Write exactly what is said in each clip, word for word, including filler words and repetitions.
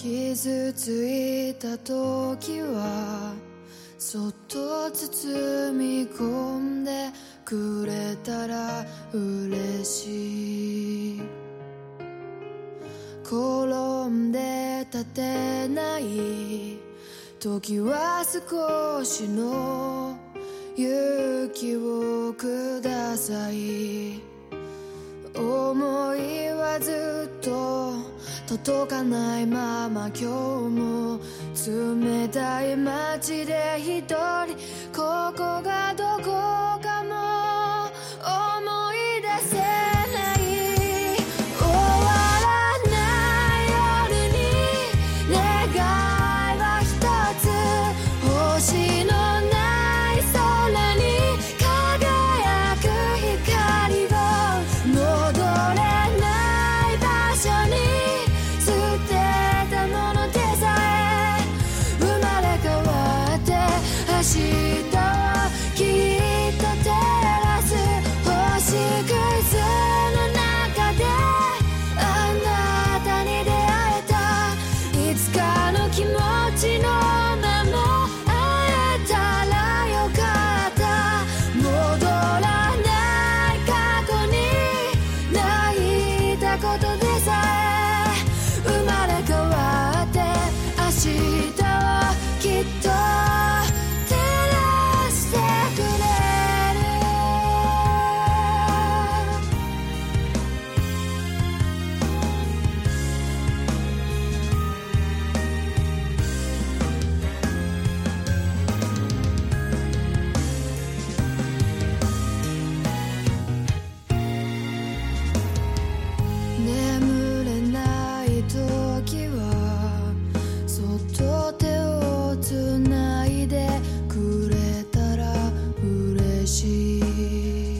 傷ついた時はそっと包み込んでくれたら嬉しい。転んで立てない時は少しの勇気をください。思いはずっと届かないまま今日も冷たい街で一人ここがどこかも思い出せない。終わらない夜に願いは一つ、星のない空に輝く光を戻れない場所に捨てたものでさえ生まれ変わって明日をきっと照らす星屑の中であなたに出会えた。いつかの気持ちのまま会えたらよかった。戻らない過去に泣いたことでさえ生まれ変わって明日をきっと照らしてくれる。眠れない時はそっと手をつないでくれたら嬉しい。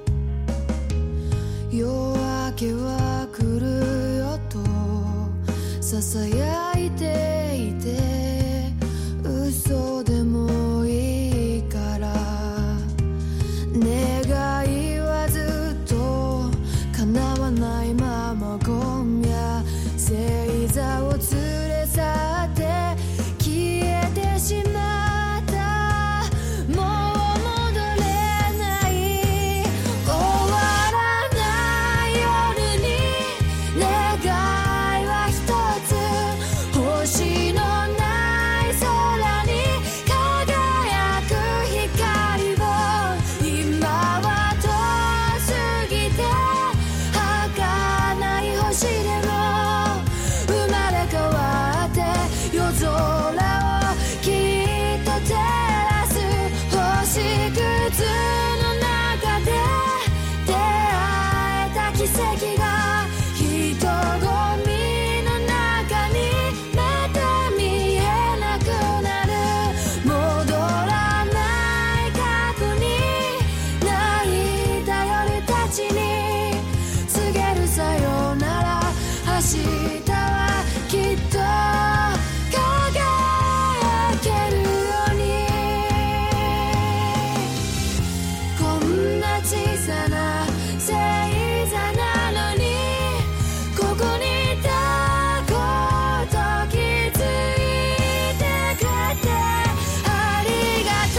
夜明けは来るよとささやいていて、嘘でもいいから願いはずっと叶わないまま今夜星座を連れ去って消えてしまった。もう戻れない。終わらない夜に願いは一つ、星のない空に輝く光を。今は遠すぎて儚い星でも生まれ変わって夜空をきっと照らす星屑の中で出会えた奇跡が人混みの中にまた見えなくなる。戻らない過去に泣いた夜たちに告げるさよなら。明日はきっと輝けるように。こんな小さな星座なのにここにいたこと気づいてくれてありがと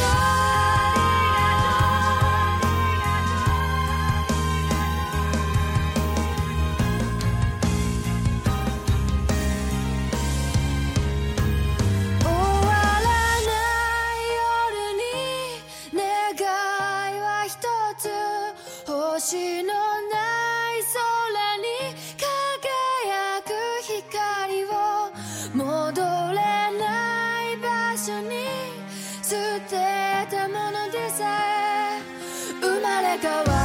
う。終わらない夜に願いは一つ、星のない空に輝く光を。戻れない場所に捨てたものでさえ生まれ変わ